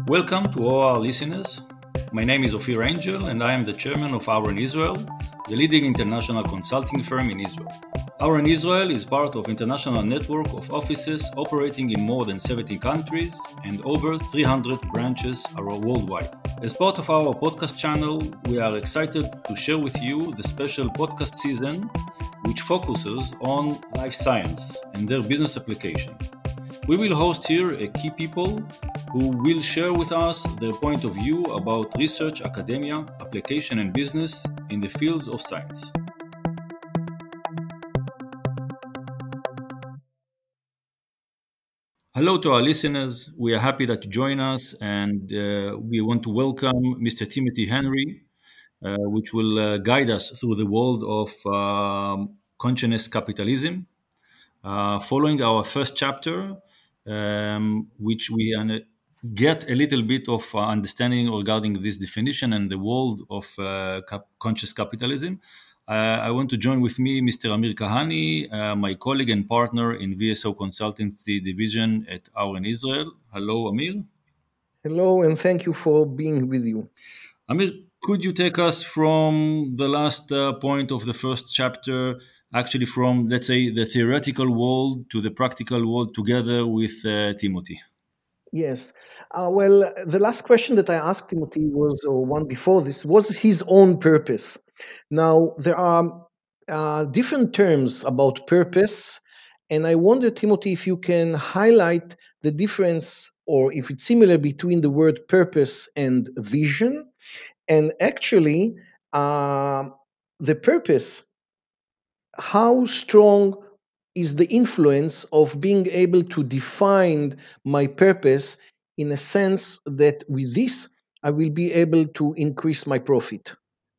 Welcome to all our listeners. My name is Ophir Angel and I am the chairman of Auren Israel, the leading international consulting firm in Israel. Auren Israel is part of international network of offices operating in more than 70 countries and over 300 branches worldwide. As part of our podcast channel, we are excited to share with you the special podcast season which focuses on life science and their business application. We will host here key people who will share with us their point of view about research, academia, application and business in the fields of science. Hello to our listeners. We are happy that you join us and we want to welcome Mr. Timothy Henry, which will guide us through the world of consciousness capitalism. Following our first chapter, which we get a little bit of understanding regarding this definition and the world of conscious capitalism. I want to join with me Mr. Amir Kahani, my colleague and partner in VSO Consultancy Division at Auren Israel. Hello, Amir. Hello, and thank you for being with you. Amir, could you take us from the last point of the first chapter, actually from, let's say, the theoretical world to the practical world together with Timothy? Yes. Well, the last question that I asked Timothy was, or one before this, was his own purpose. Now, there are different terms about purpose, and I wonder, Timothy, if you can highlight the difference or if it's similar between the word purpose and vision. And actually, the purpose, how strong is the influence of being able to define my purpose in a sense that with this I will be able to increase my profit?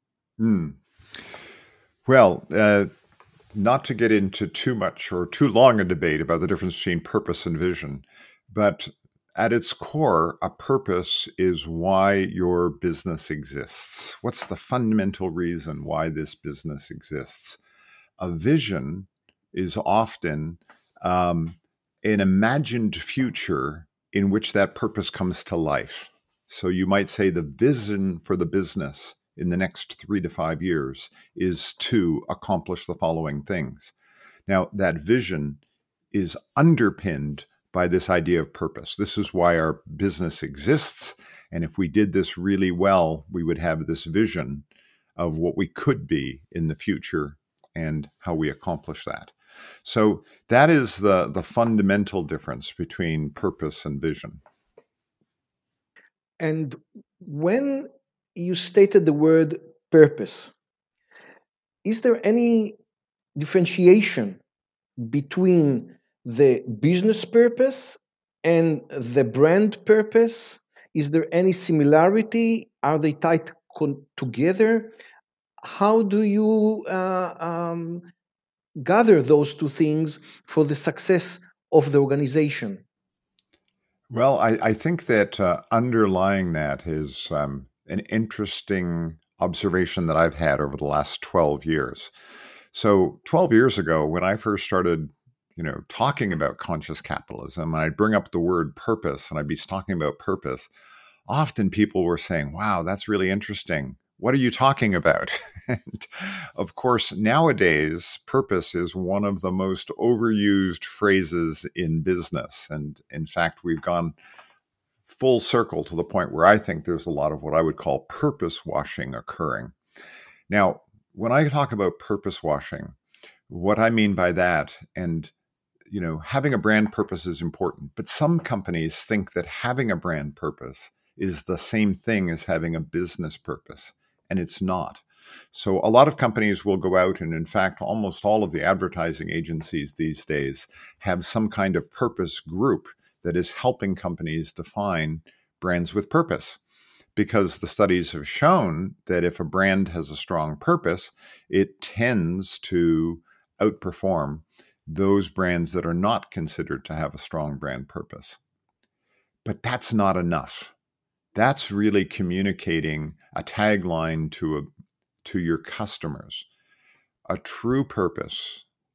Well, not to get into too much or too long a debate about the difference between purpose and vision, but at its core, a purpose is why your business exists. What's the fundamental reason why this business exists? A vision is often an imagined future in which that purpose comes to life. So you might say the vision for the business in the next 3 to 5 years is to accomplish the following things. Now, that vision is underpinned by this idea of purpose. This is why our business exists. And if we did this really well, we would have this vision of what we could be in the future and how we accomplish that. So that is the fundamental difference between purpose and vision. And when you stated the word purpose, is there any differentiation between the business purpose and the brand purpose? Is there any similarity? Are they tied together? How do you gather those two things for the success of the organization? Well, I think that underlying that is an interesting observation that I've had over the last 12 years. So 12 years ago, when I first started, talking about conscious capitalism, I'd bring up the word purpose and I'd be talking about purpose. Often people were saying, wow, that's really interesting. What are you talking about? And of course, nowadays, purpose is one of the most overused phrases in business. And in fact, we've gone full circle to the point where I think there's a lot of what I would call purpose washing occurring. Now, when I talk about purpose washing, what I mean by that, and having a brand purpose is important, but some companies think that having a brand purpose is the same thing as having a business purpose, and it's not. So a lot of companies will go out, and in fact, almost all of the advertising agencies these days have some kind of purpose group that is helping companies define brands with purpose. Because the studies have shown that if a brand has a strong purpose, it tends to outperform those brands that are not considered to have a strong brand purpose. But that's not enough. That's really communicating a tagline to your customers. A true purpose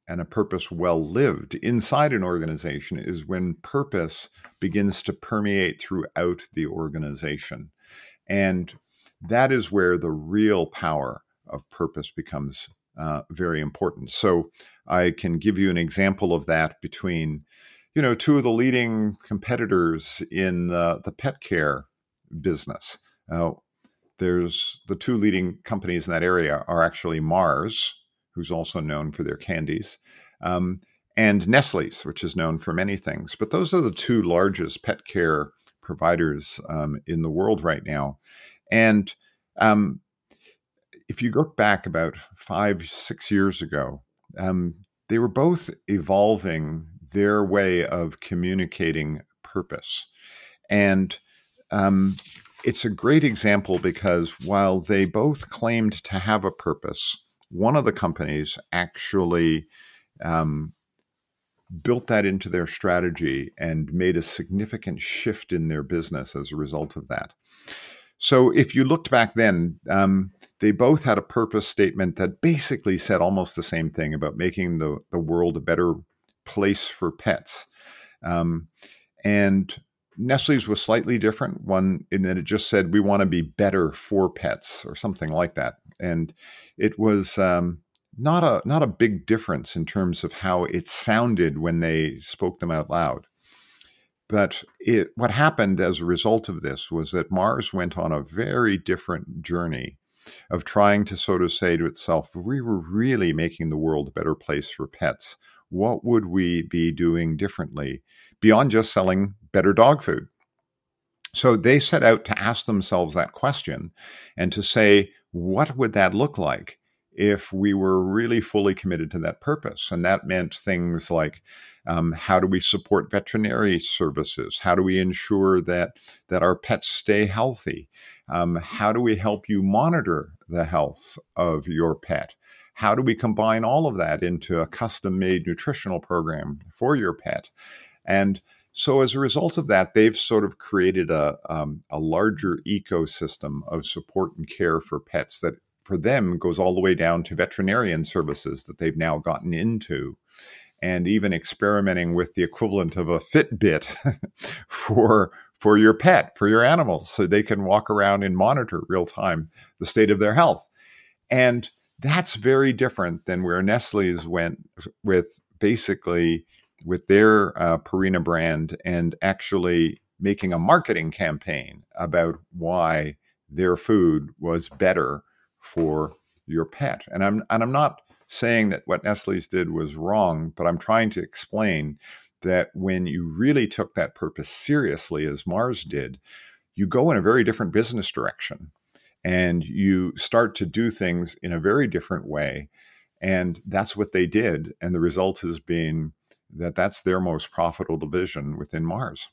and a purpose well lived inside an organization is when purpose begins to permeate throughout the organization. And that is where the real power of purpose becomes very important. So I can give you an example of that between, two of the leading competitors in the pet care business. There's the two leading companies in that area are actually Mars, who's also known for their candies, and Nestle's, which is known for many things. But those are the two largest pet care providers in the world right now. And if you look back about 5-6 years ago, they were both evolving their way of communicating purpose. And it's a great example because while they both claimed to have a purpose, one of the companies actually built that into their strategy and made a significant shift in their business as a result of that. So if you looked back then, they both had a purpose statement that basically said almost the same thing about making the world a better place for pets. And Nestle's was slightly different, one in that it just said, we want to be better for pets or something like that. And it was not a big difference in terms of how it sounded when they spoke them out loud. But what happened as a result of this was that Mars went on a very different journey of trying to sort of say to itself, if we were really making the world a better place for pets, what would we be doing differently beyond just selling better dog food? So they set out to ask themselves that question and to say, what would that look like if we were really fully committed to that purpose? And that meant things like, how do we support veterinary services? How do we ensure that our pets stay healthy? How do we help you monitor the health of your pet? How do we combine all of that into a custom-made nutritional program for your pet? And so as a result of that, they've sort of created a larger ecosystem of support and care for pets that for them goes all the way down to veterinarian services that they've now gotten into, and even experimenting with the equivalent of a Fitbit for your pet, for your animals, so they can walk around and monitor real time the state of their health. And that's very different than where Nestle's went with basically with their Purina brand and actually making a marketing campaign about why their food was better for your pet. And I'm not saying that what Nestle's did was wrong, but I'm trying to explain that when you really took that purpose seriously, as Mars did, you go in a very different business direction and you start to do things in a very different way. And that's what they did. And the result has been that that's their most profitable division within Mars.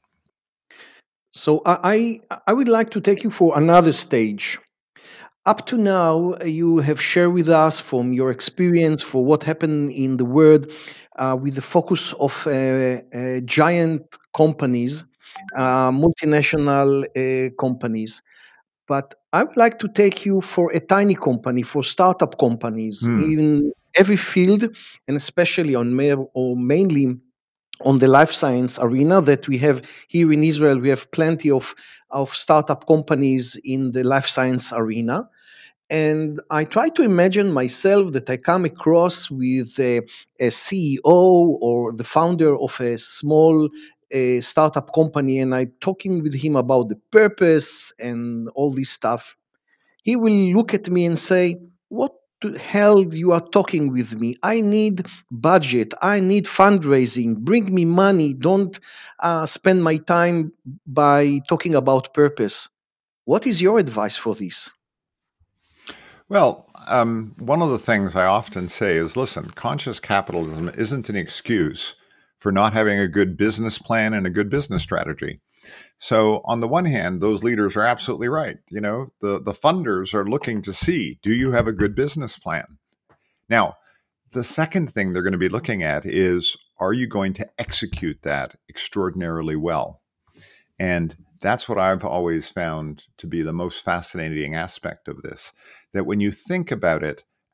So I would like to take you for another stage. Up to now, you have shared with us from your experience for what happened in the world with the focus of giant companies, multinational companies. But I would like to take you for a tiny company, for startup companies in every field, and especially mainly on the life science arena that we have here in Israel. We have plenty of startup companies in the life science arena. And I try to imagine myself that I come across with a CEO or the founder of a small startup company, and I'm talking with him about the purpose and all this stuff. He will look at me and say, "What the hell you are talking with me? I need budget. I need fundraising. Bring me money. Don't spend my time by talking about purpose." What is your advice for this? Well, one of the things I often say is, listen, conscious capitalism isn't an excuse for not having a good business plan and a good business strategy. So on the one hand, those leaders are absolutely right. The funders are looking to see, do you have a good business plan? Now, the second thing they're going to be looking at is, are you going to execute that extraordinarily well? And that's what I've always found to be the most fascinating aspect of this, that when you think about it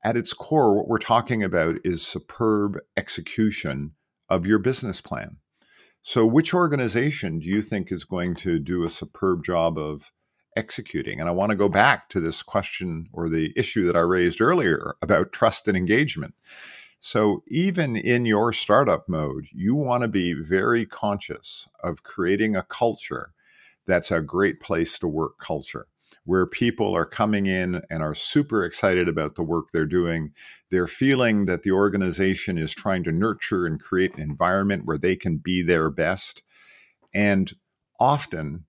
at its core, what we're talking about is superb execution of your business plan. So which organization do you think is going to do a superb job of executing? And I want to go back to this question or the issue that I raised earlier about trust and engagement. So even in your startup mode, you want to be very conscious of creating a culture that's a great place to work culture, where people are coming in and are super excited about the work they're doing. They're feeling that the organization is trying to nurture and create an environment where they can be their best. And often,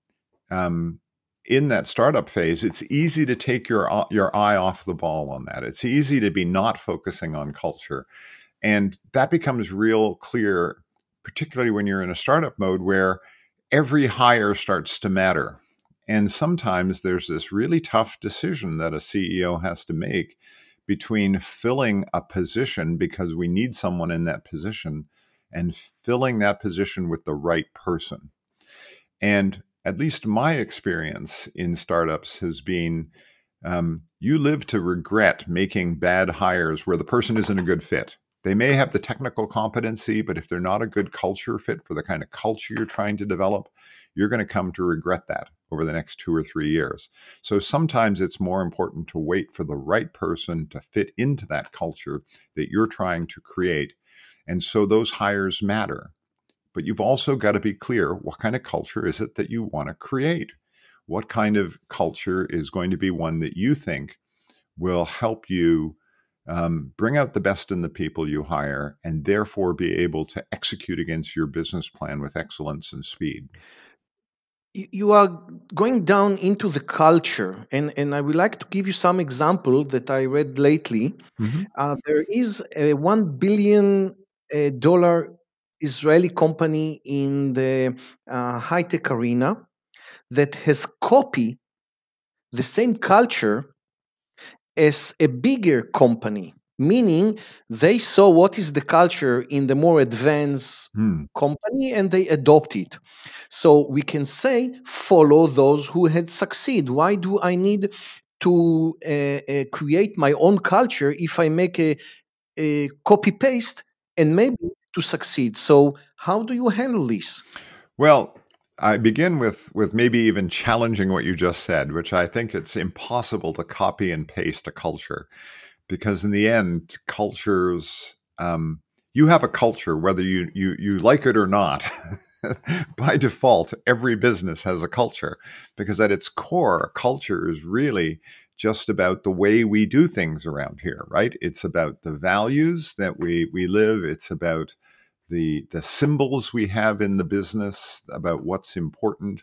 in that startup phase, it's easy to take your eye off the ball on that. It's easy to be not focusing on culture. And that becomes real clear, particularly when you're in a startup mode where every hire starts to matter. And sometimes there's this really tough decision that a CEO has to make between filling a position because we need someone in that position and filling that position with the right person. And at least my experience in startups has been you live to regret making bad hires where the person isn't a good fit. They may have the technical competency, but if they're not a good culture fit for the kind of culture you're trying to develop, you're going to come to regret that over the next 2 or 3 years. So sometimes it's more important to wait for the right person to fit into that culture that you're trying to create. And so those hires matter. But you've also got to be clear, what kind of culture is it that you want to create? What kind of culture is going to be one that you think will help you bring out the best in the people you hire and therefore be able to execute against your business plan with excellence and speed? You are going down into the culture, and I would like to give you some example that I read lately. There is a $1 billion Israeli company in the high tech arena that has copied the same culture as a bigger company, meaning they saw what is the culture in the more advanced Hmm. company and they adopt it. So we can say follow those who had succeed. Why do I need to create my own culture if I make a copy paste and maybe to succeed? So how do you handle this? Well, I begin with maybe even challenging what you just said, which I think it's impossible to copy and paste a culture, because in the end, cultures, you have a culture whether you like it or not. By default, every business has a culture, because at its core, culture is really just about the way we do things around here, right? It's about the values that we live. It's about the symbols we have in the business, about what's important,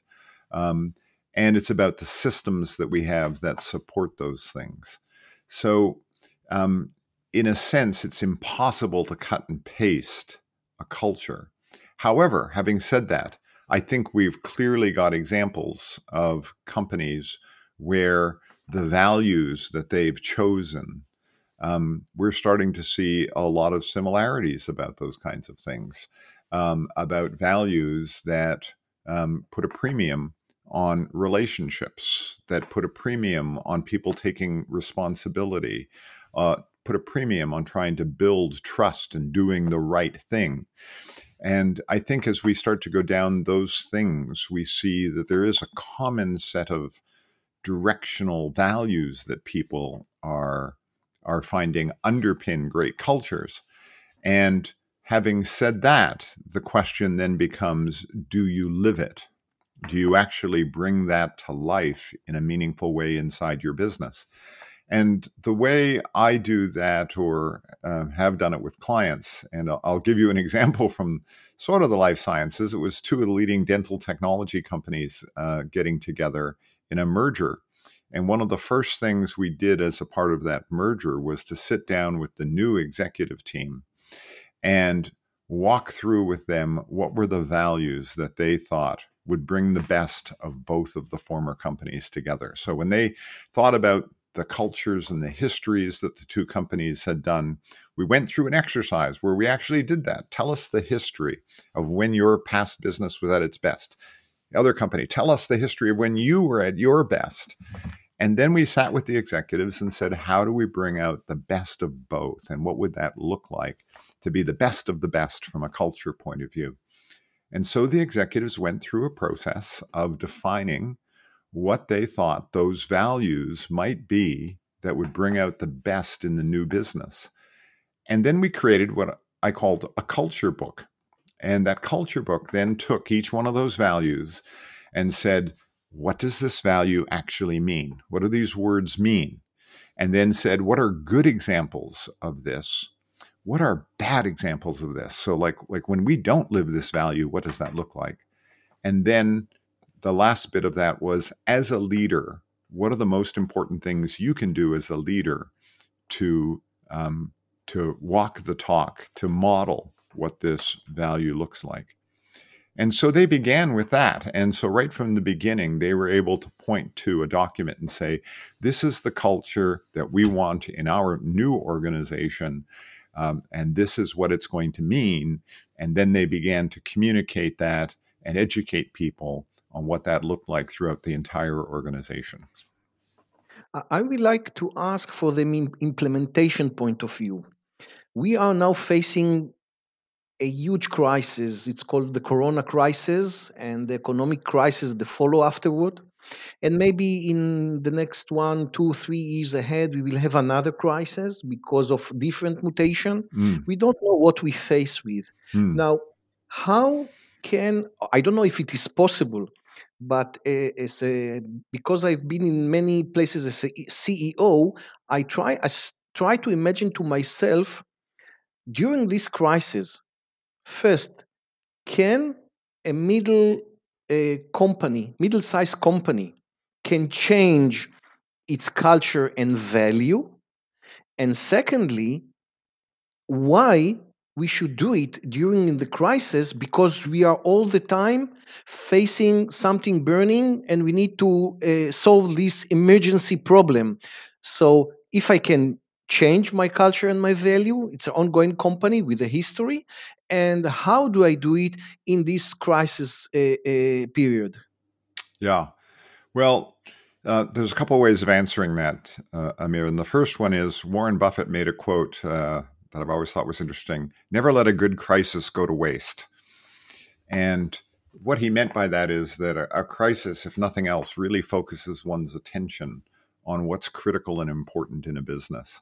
and it's about the systems that we have that support those things. So, in a sense, it's impossible to cut and paste a culture. However, having said that, I think we've clearly got examples of companies where the values that they've chosen, we're starting to see a lot of similarities about those kinds of things, about values that put a premium on relationships, that put a premium on people taking responsibility, put a premium on trying to build trust and doing the right thing. And I think as we start to go down those things, we see that there is a common set of directional values that people are finding underpin great cultures. And having said that, the question then becomes, do you live it? Do you actually bring that to life in a meaningful way inside your business? And the way I do that, or have done it with clients, and I'll give you an example from sort of the life sciences. It was two of the leading dental technology companies getting together in a merger. And one of the first things we did as a part of that merger was to sit down with the new executive team and walk through with them what were the values that they thought would bring the best of both of the former companies together. So when they thought about the cultures and the histories that the two companies had done, we went through an exercise where we actually did that. Tell us the history of when your past business was at its best. The other company, tell us the history of when you were at your best. And then we sat with the executives and said, how do we bring out the best of both? And what would that look like to be the best of the best from a culture point of view? And so the executives went through a process of defining what they thought those values might be that would bring out the best in the new business. And then we created what I called a culture book. And that culture book then took each one of those values and said, what does this value actually mean? What do these words mean? And then said, what are good examples of this? What are bad examples of this? So like when we don't live this value, what does that look like? And then the last bit of that was, as a leader, what are the most important things you can do as a leader to walk the talk, to model what this value looks like? And so they began with that. And so right from the beginning, they were able to point to a document and say, this is the culture that we want in our new organization. And this is what it's going to mean. And then they began to communicate that and educate people on what that looked like throughout the entire organization. I would like to ask for the implementation point of view. We are now facing a huge crisis. It's called the Corona crisis, and the economic crisis that follow afterward. And maybe in the next 1, 2, 3 years ahead, we will have another crisis because of different mutation. We don't know what we face with. Now, how can, I don't know if it is possible, but because I've been in many places as a CEO, I try to imagine to myself during this crisis. First, can a middle-sized company, can change its culture and value? And secondly, why we should do it during the crisis? Because we are all the time facing something burning, and we need to solve this emergency problem. So if I can change my culture and my value, it's an ongoing company with a history. And how do I do it in this crisis period? Yeah. Well, there's a couple of ways of answering that, Amir. And the first one is Warren Buffett made a quote that I've always thought was interesting: never let a good crisis go to waste. And what he meant by that is that a crisis, if nothing else, really focuses one's attention on what's critical and important in a business.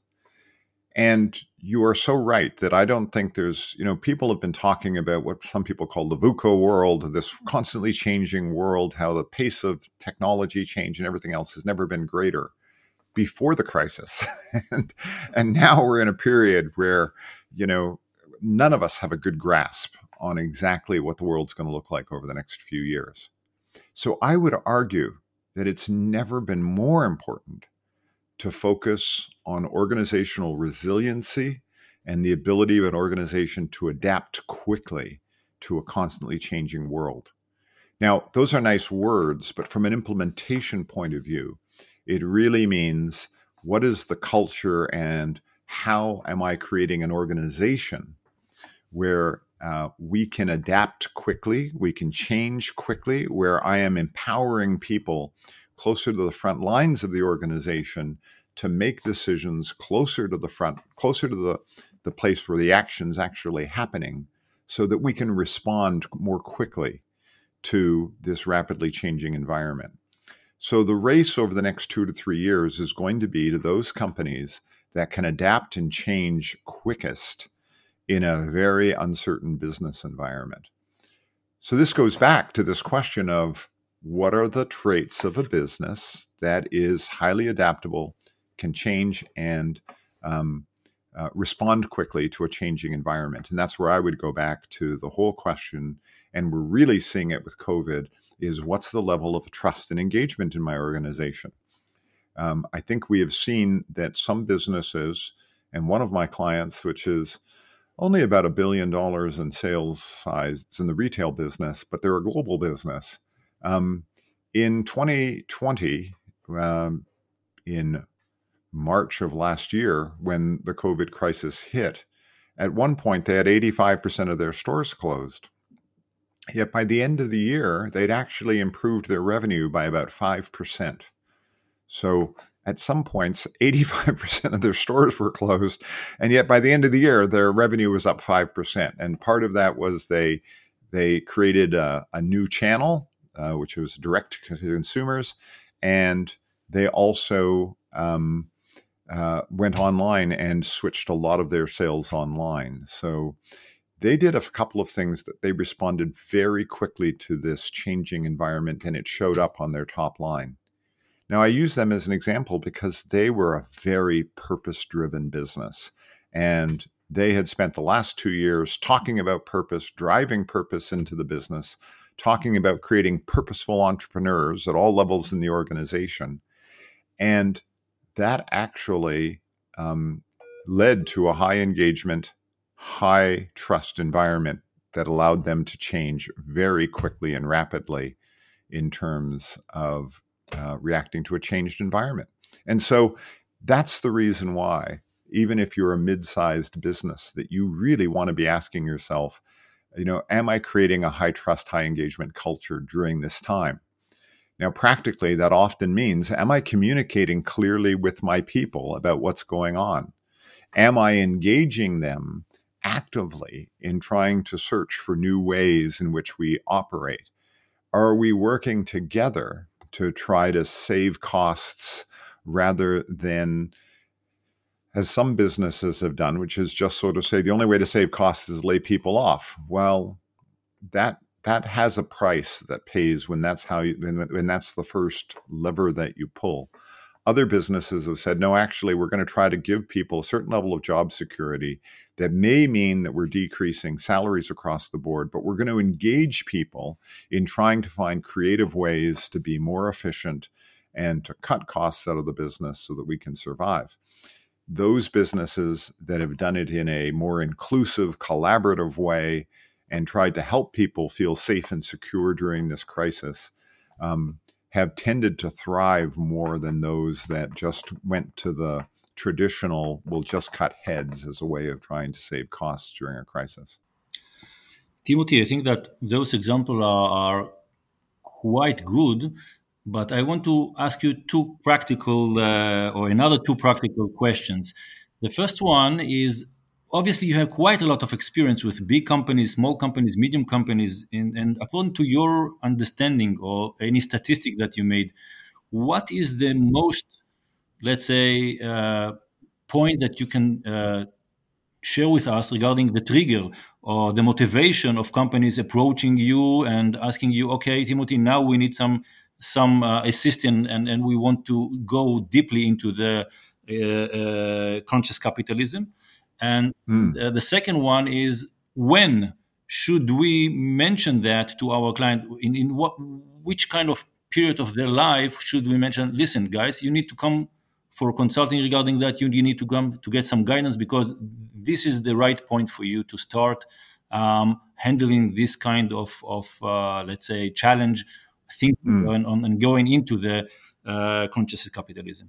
And you are so right that I don't think there's, people have been talking about what some people call the VUCA world, this constantly changing world, how the pace of technology change and everything else has never been greater before the crisis. and now we're in a period where, none of us have a good grasp on exactly what the world's going to look like over the next few years. So I would argue that it's never been more important to focus on organizational resiliency and the ability of an organization to adapt quickly to a constantly changing world. Now, those are nice words, but from an implementation point of view, it really means, what is the culture and how am I creating an organization where we can adapt quickly, we can change quickly, where I am empowering people closer to the front lines of the organization to make decisions closer to the front, closer to the place where the action's actually happening, so that we can respond more quickly to this rapidly changing environment. So the race over the next 2 to 3 years is going to be to those companies that can adapt and change quickest in a very uncertain business environment. So this goes back to this question of, what are the traits of a business that is highly adaptable, can change, and respond quickly to a changing environment? And that's where I would go back to the whole question, and we're really seeing it with COVID, is what's the level of trust and engagement in my organization? I think we have seen that some businesses, and one of my clients, which is only about $1 billion in sales size, it's in the retail business, but they're a global business. In 2020, in March of last year, when the COVID crisis hit, at one point they had 85% of their stores closed. Yet by the end of the year, they'd actually improved their revenue by about 5%. So at some points, 85% of their stores were closed. And yet by the end of the year, their revenue was up 5%. And part of that was they created a new channel, which was direct to consumers. And they also went online and switched a lot of their sales online. So they did a couple of things that they responded very quickly to this changing environment, and it showed up on their top line. Now, I use them as an example because they were a very purpose-driven business, and they had spent the last 2 years talking about purpose, driving purpose into the business, talking about creating purposeful entrepreneurs at all levels in the organization. And that actually led to a high engagement, high trust environment that allowed them to change very quickly and rapidly in terms of reacting to a changed environment. And so that's the reason why, even if you're a mid-sized business, that you really want to be asking yourself, am I creating a high trust, high engagement culture during this time? Now, practically, that often means, am I communicating clearly with my people about what's going on? Am I engaging them actively in trying to search for new ways in which we operate? Are we working together to try to save costs rather than, as some businesses have done, which is just sort of say the only way to save costs is lay people off? Well, that has a price that pays when that's when that's the first lever that you pull. Other businesses have said, no, actually, we're going to try to give people a certain level of job security that may mean that we're decreasing salaries across the board, but we're going to engage people in trying to find creative ways to be more efficient and to cut costs out of the business so that we can survive. Those businesses that have done it in a more inclusive, collaborative way and tried to help people feel safe and secure during this crisis have tended to thrive more than those that just went to the traditional, we'll just cut heads as a way of trying to save costs during a crisis. Timothy, I think that those examples are quite good, but I want to ask you two practical questions. The first one is, obviously, you have quite a lot of experience with big companies, small companies, medium companies, and according to your understanding or any statistic that you made, what is the most, let's say, point that you can share with us regarding the trigger or the motivation of companies approaching you and asking you, okay, Timothy, now we need some assistance and we want to go deeply into the conscious capitalism? And the second one is, when should we mention that to our client? In which kind of period of their life should we mention, listen, guys, you need to come for consulting regarding that. You need to come to get some guidance because this is the right point for you to start handling this kind of let's say, challenge, thinking and going into the conscious capitalism.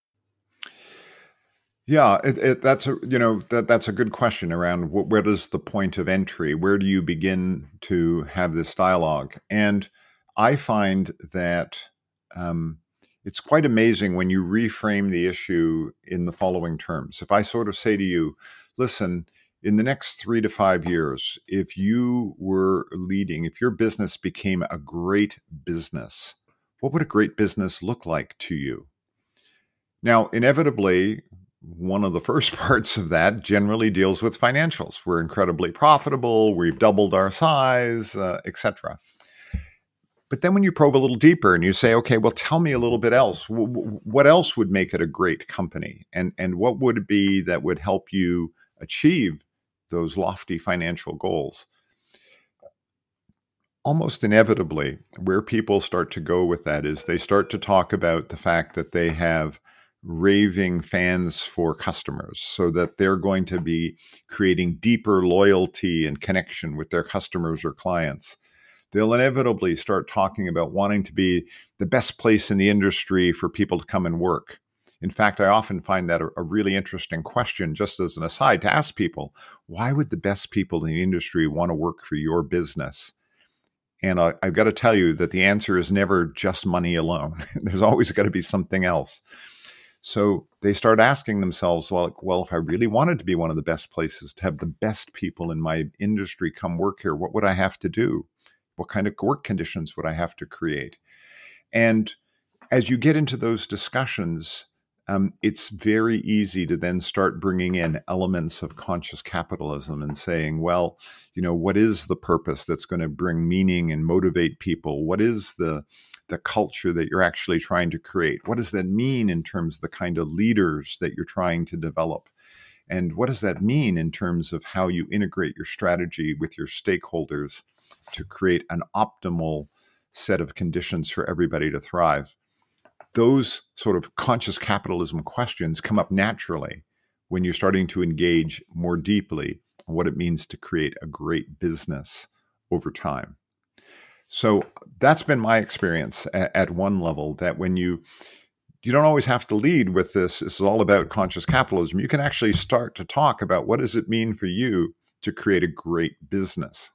Yeah, that's a good question around where is the point of entry? Where do you begin to have this dialogue? And I find that it's quite amazing when you reframe the issue in the following terms. If I sort of say to you, listen, in the next 3 to 5 years, if you were leading, if your business became a great business, what would a great business look like to you? Now, inevitably, one of the first parts of that generally deals with financials. We're incredibly profitable, we've doubled our size, etc. But then when you probe a little deeper and you say, okay, well, tell me a little bit else. What else would make it a great company? And what would it be that would help you achieve those lofty financial goals? Almost inevitably, where people start to go with that is they start to talk about the fact that they have raving fans for customers, so that they're going to be creating deeper loyalty and connection with their customers or clients. They'll inevitably start talking about wanting to be the best place in the industry for people to come and work. In fact, I often find that a really interesting question, just as an aside, to ask people, why would the best people in the industry want to work for your business? And I've got to tell you that the answer is never just money alone. There's always got to be something else. So they start asking themselves, well, if I really wanted to be one of the best places, to have the best people in my industry come work here, what would I have to do? What kind of work conditions would I have to create? And as you get into those discussions, it's very easy to then start bringing in elements of conscious capitalism and saying, well, what is the purpose that's going to bring meaning and motivate people? What is the culture that you're actually trying to create? What does that mean in terms of the kind of leaders that you're trying to develop? And what does that mean in terms of how you integrate your strategy with your stakeholders to create an optimal set of conditions for everybody to thrive? Those sort of conscious capitalism questions come up naturally when you're starting to engage more deeply on what it means to create a great business over time. So that's been my experience at one level, that when you don't always have to lead with this is all about conscious capitalism. You can actually start to talk about what does it mean for you to create a great business.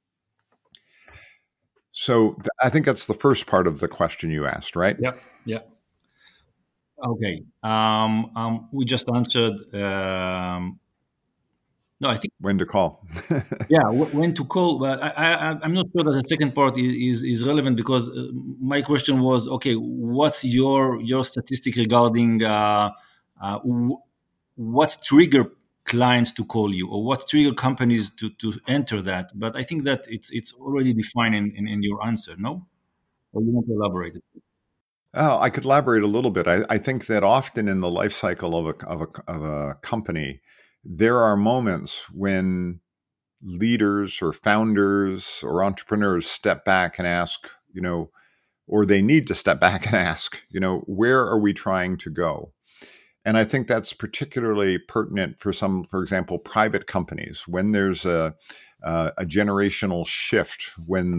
So I think that's the first part of the question you asked, right? Yeah. Okay. We just answered. No, I think when to call. Yeah, when to call. But I'm not sure that the second part is relevant, because my question was, okay, what's your statistic regarding what trigger clients to call you, or what trigger companies to enter that? But I think that it's already defined in your answer, no? Or you want to elaborate? Oh, I could elaborate a little bit. I think that often in the life cycle of a company, there are moments when leaders or founders or entrepreneurs step back and ask, or they need to step back and ask, where are we trying to go? And I think that's particularly pertinent for for example, private companies, when there's a generational shift, when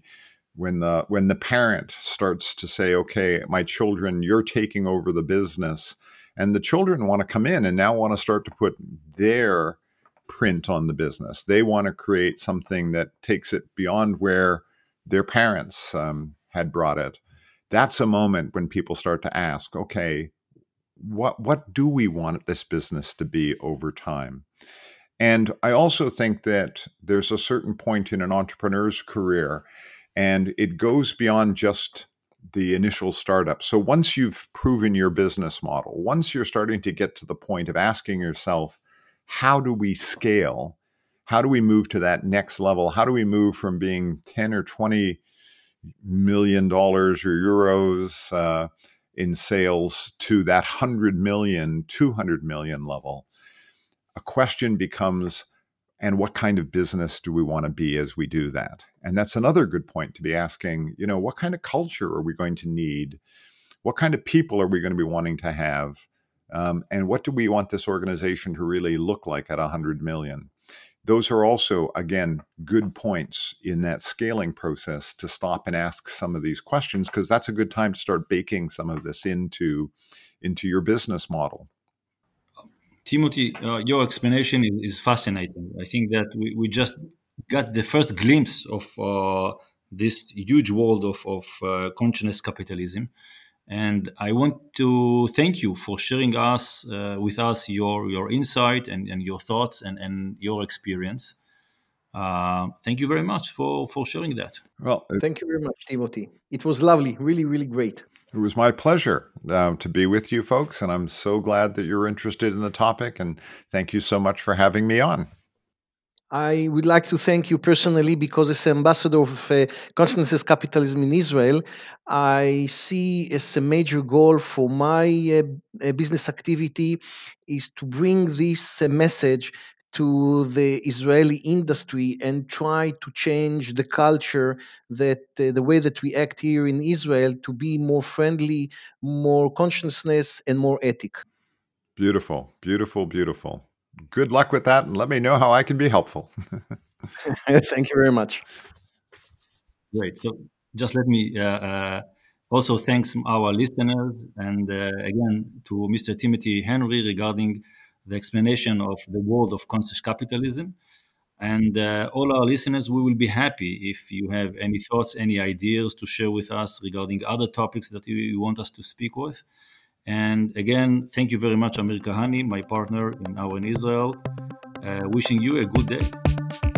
the parent starts to say, okay, my children, you're taking over the business, and the children want to come in and now want to start to put their print on the business. They want to create something that takes it beyond where their parents had brought it. That's a moment when people start to ask, okay, what do we want this business to be over time? And I also think that there's a certain point in an entrepreneur's career, and it goes beyond just the initial startup. So once you've proven your business model, once you're starting to get to the point of asking yourself, how do we scale? How do we move to that next level? How do we move from being 10 or 20 million dollars or euros in sales to that 100 million, 200 million level? A question becomes, and what kind of business do we want to be as we do that? And that's another good point to be asking, what kind of culture are we going to need? What kind of people are we going to be wanting to have? And what do we want this organization to really look like at 100 million? Those are also, again, good points in that scaling process to stop and ask some of these questions, because that's a good time to start baking some of this into your business model. Timothy, your explanation is fascinating. I think that we just got the first glimpse of this huge world of consciousness capitalism. And I want to thank you for sharing with us your insight and your thoughts and your experience. Thank you very much for sharing that. Well, Thank you very much, Timothy. It was lovely, really, really great. It was my pleasure to be with you folks, and I'm so glad that you're interested in the topic, and thank you so much for having me on. I would like to thank you personally, because as ambassador of consciousness capitalism in Israel, I see as a major goal for my business activity is to bring this message to the Israeli industry and try to change the culture, that the way that we act here in Israel, to be more friendly, more consciousness, and more ethic. Beautiful, beautiful, beautiful. Good luck with that, and let me know how I can be helpful. Thank you very much. Great. So just let me also thanks our listeners, and again to Mr. Timothy Henry regarding the explanation of the world of conscious capitalism. And all our listeners, we will be happy if you have any thoughts, any ideas to share with us regarding other topics that you want us to speak with. And again, thank you very much, Amir Kahani, my partner in Our in Israel. Wishing you a good day.